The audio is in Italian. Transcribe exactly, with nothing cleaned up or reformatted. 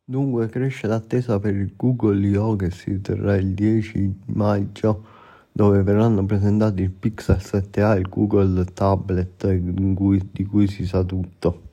Dunque cresce l'attesa per il Google I O che si terrà il dieci maggio, dove verranno presentati il Pixel sette a e il Google Tablet in cui- di cui si sa tutto.